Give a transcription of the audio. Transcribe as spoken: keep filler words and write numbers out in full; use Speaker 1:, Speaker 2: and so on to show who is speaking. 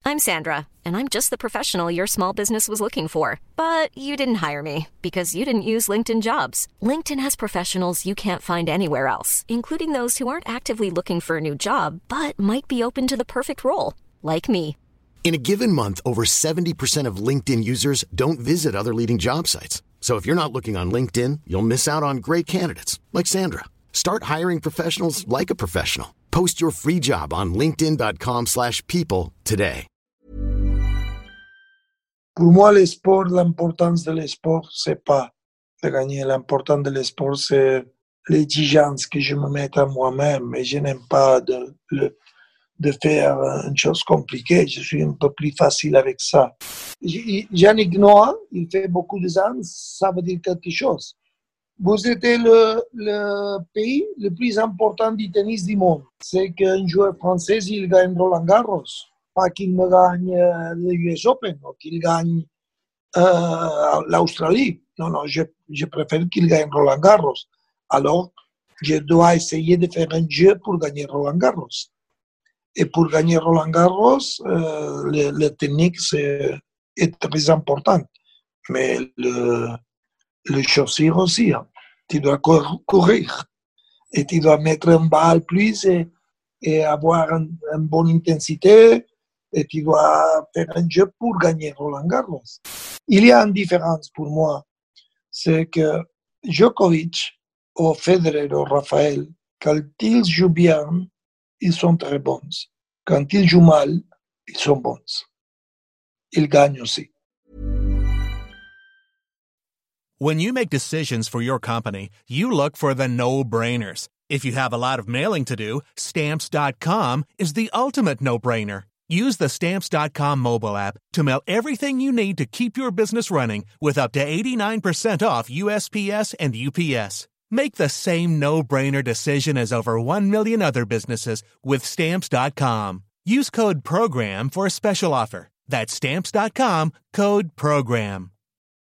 Speaker 1: I'm Sandra, and I'm just the professional your small business was looking for. But you didn't hire me because you didn't use LinkedIn Jobs. LinkedIn has professionals you can't find anywhere else, including those who aren't actively looking for a new job, but might be open to the perfect role, like me.
Speaker 2: In a given month, over seventy percent of LinkedIn users don't visit other leading job sites. So if you're not looking on LinkedIn, you'll miss out on great candidates like Sandra. Start hiring professionals like a professional. Post your free job on linkedin.com slash people today.
Speaker 3: Pour moi, le sport, l'importance de l'esport, c'est pas de gagner. L'important de l'esport, c'est l'exigence que je me mette à moi-même. Et je n'aime pas de, de, de faire une chose compliquée. Je suis un peu plus facile avec ça. Yannick Noah, il fait beaucoup de ans, ça veut dire quelque chose. Vous êtes le, le pays le plus important du tennis du monde. C'est qu'un joueur français, il gagne Roland Garros. Pas qu'il me gagne le U S Open ou qu'il gagne euh, l'Australie. Non, non, je, je préfère qu'il gagne Roland Garros. Alors, je dois essayer de faire un jeu pour gagner Roland Garros. Et pour gagner Roland Garros, euh, le, le technique c'est, est très important. Mais le, le chaussure aussi. Hein. Tu dois cor- courir et tu dois mettre un balle plus et, et avoir un, une bonne intensité et tu dois faire un jeu pour gagner Roland Garros. Il y a une différence pour moi, c'est que Djokovic ou Federer ou Rafael, quand ils jouent bien, ils sont très bons. Quand ils jouent mal, ils sont bons. Ils gagnent aussi.
Speaker 4: When you make decisions for your company, you look for the no-brainers. If you have a lot of mailing to do, Stamps dot com is the ultimate no-brainer. Use the Stamps dot com mobile app to mail everything you need to keep your business running with up to eighty-nine percent off U S P S and U P S. Make the same no-brainer decision as over one million other businesses with Stamps dot com. Use code PROGRAM for a special offer. That's Stamps dot com, code PROGRAM.